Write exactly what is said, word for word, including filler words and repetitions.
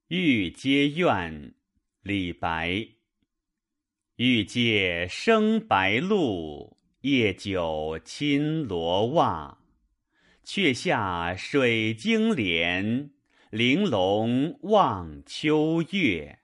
欲阶怨，李白。欲借生白露，夜久侵罗袜。却下水晶帘，玲珑望秋月。